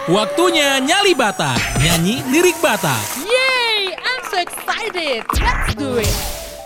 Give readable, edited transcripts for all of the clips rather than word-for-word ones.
Waktunya Nyali Batak, nyanyi lirik Batak. Yay! I'm so excited. Let's do it.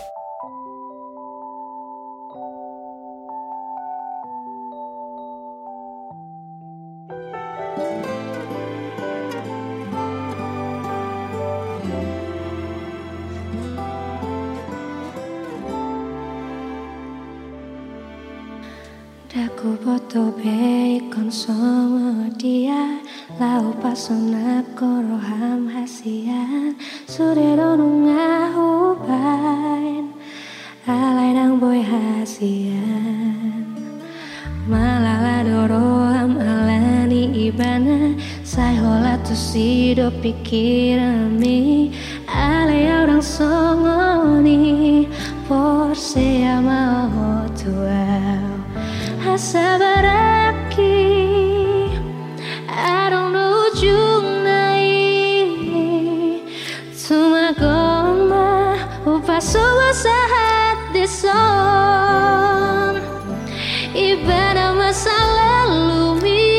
Daku foto baik kon sama dia lau pasona koroham hasian sore donu ngahubain alai nang boy hasian malala doroham alani ibana sai hola tu sido pikirami alai orang songoni forse amao tuau sabaraki I don't know ujung nai Tuma goma upaso wasahat dison Ibadah masa lalu mi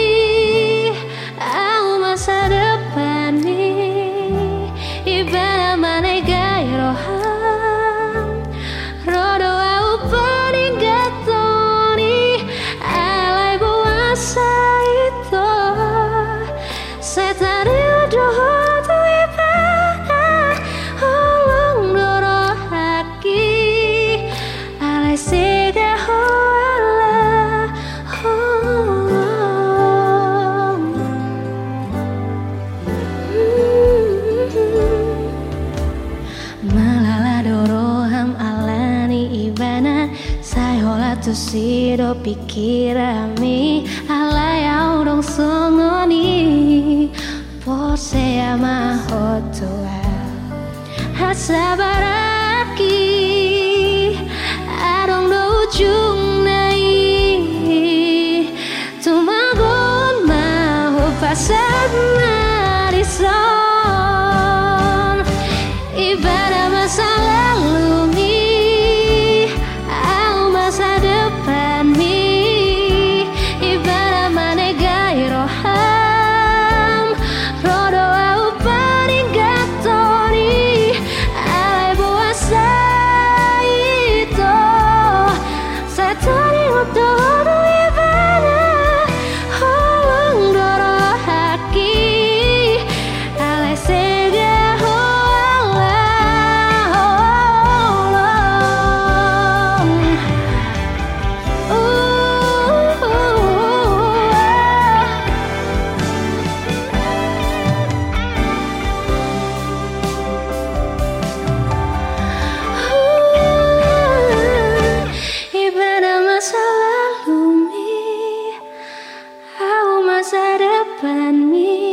Au masa depan mi Ibadah mana gaya roham Rodo au peninggatoni Alai buasa itu Setari udah tu ibadah Holong doro haki Alai sega hoala holong Malala doroham alani ibana Sai hola tu sido pikirami Alai au dong songoni Pose ama hotua Hasabaraki Adong do ujung nai Tumagon maho pasad marison Ibadah masa lalu mi Au masa depan mi Ibadah mana gaya roham Rodo au peninggatoni Alai buasa itu Setani utodo ibadah Holong doro haki Alai sega hoala holong Ibadah masa lalu mi Au masa depan mi